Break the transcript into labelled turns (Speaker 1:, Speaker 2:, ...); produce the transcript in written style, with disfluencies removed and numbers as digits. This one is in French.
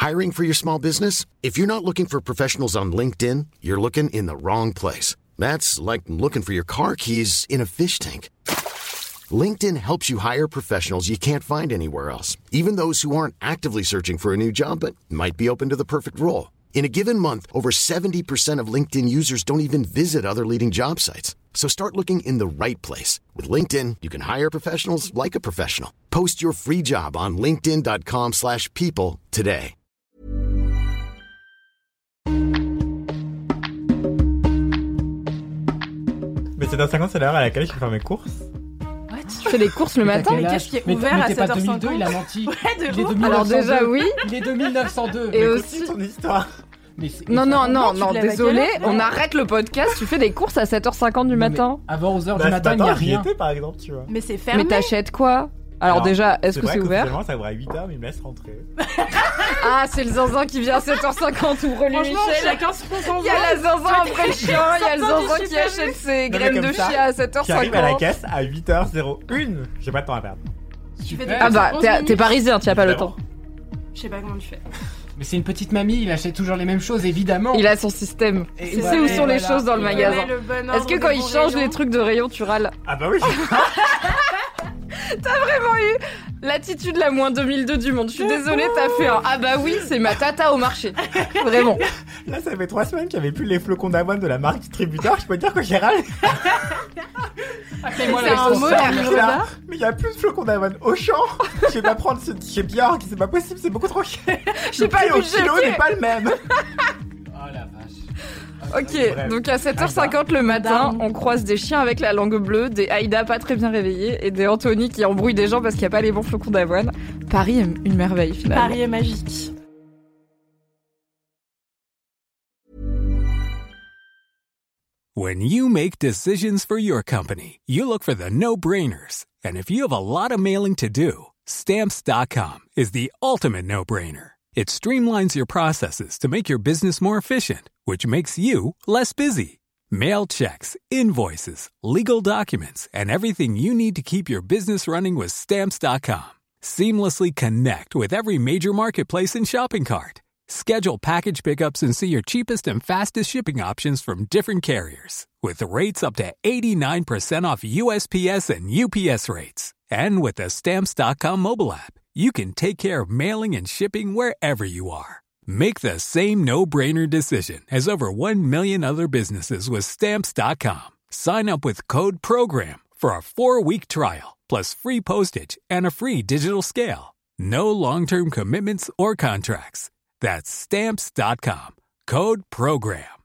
Speaker 1: Hiring for your small business? If you're not looking for professionals on LinkedIn, you're looking in the wrong place. That's like looking for your car keys in a fish tank. LinkedIn helps you hire professionals you can't find anywhere else, even those who aren't actively searching for a new job but might be open to the perfect role. In a given month, over 70% of LinkedIn users don't even visit other leading job sites. So start looking in the right place. With LinkedIn, you can hire professionals like a professional. Post your free job on linkedin.com/people today.
Speaker 2: Mais c'est dans 50, c'est l'heure à laquelle je peux faire mes courses.
Speaker 3: Tu fais des courses le matin?
Speaker 4: Mais qu'est-ce qui est ouvert à 7h50? 2002, il a menti.
Speaker 3: Ouais, il est 1902. Alors déjà, oui.
Speaker 4: Il est de 1902.
Speaker 3: Et aussi
Speaker 2: ton histoire.
Speaker 3: Non, désolé, on arrête le podcast, tu fais des courses à 7h50 du matin.
Speaker 4: Avant 11h du matin, il n'y a rien.
Speaker 2: Par exemple, tu vois.
Speaker 5: Mais c'est fermé.
Speaker 3: Mais t'achètes quoi? Alors déjà, est-ce que c'est ouvert?
Speaker 2: Ça ouvre à 8h, mais il me laisse rentrer.
Speaker 3: Ah, c'est le zinzin qui vient à 7h50, ouvre-lui Michel.
Speaker 5: Chacun son zinzin.
Speaker 3: Il y a la zinzin après le chien, il y a le zinzin qui achète ses graines de chia à 7h50.
Speaker 2: Qui arrive à la caisse à 8h01. J'ai pas de temps à perdre.
Speaker 3: Ah bah, t'es parisien, tu as pas le temps.
Speaker 5: Je sais pas comment tu fais.
Speaker 4: Mais c'est une petite mamie, il achète toujours les mêmes choses, évidemment.
Speaker 3: Il a son système. Il sait où sont les choses dans le magasin. Est-ce que quand il change les trucs de rayon, tu râles?
Speaker 2: Ah bah oui.
Speaker 3: T'as vraiment eu l'attitude la moins 2002 du monde. Je suis désolée, t'as fait un ah bah oui, c'est ma tata au marché. Vraiment.
Speaker 2: Là, ça fait 3 semaines qu'il n'y avait plus les flocons d'avoine de la marque distributeur. Je peux te dire que j'ai râlé.
Speaker 3: C'est un mot là.
Speaker 2: Mais il n'y a plus de flocons d'avoine au champ. Je vais pas prendre ce chez Björk, c'est pas possible, c'est beaucoup trop cher.
Speaker 3: Je sais pas, le
Speaker 2: kilo n'est pas le même.
Speaker 4: Oh la vache.
Speaker 3: Ok, donc à 7h50 le matin, on croise des chiens avec la langue bleue, des Aïda pas très bien réveillés et des Anthony qui embrouillent des gens parce qu'il n'y a pas les bons flocons d'avoine. Paris est une merveille finalement.
Speaker 5: Paris est magique.
Speaker 6: When you make decisions for your company, you look for the no-brainers. And if you have a lot of mailing to do, Stamps.com is the ultimate no-brainer. It streamlines your processes to make your business more efficient, which makes you less busy. Mail checks, invoices, legal documents, and everything you need to keep your business running with Stamps.com. Seamlessly connect with every major marketplace and shopping cart. Schedule package pickups and see your cheapest and fastest shipping options from different carriers. With rates up to 89% off USPS and UPS rates. And with the Stamps.com mobile app, you can take care of mailing and shipping wherever you are. Make the same no-brainer decision as over 1 million other businesses with Stamps.com. Sign up with code PROGRAM for a 4-week trial, plus free postage and a free digital scale. No long-term commitments or contracts. That's Stamps.com. Code PROGRAM.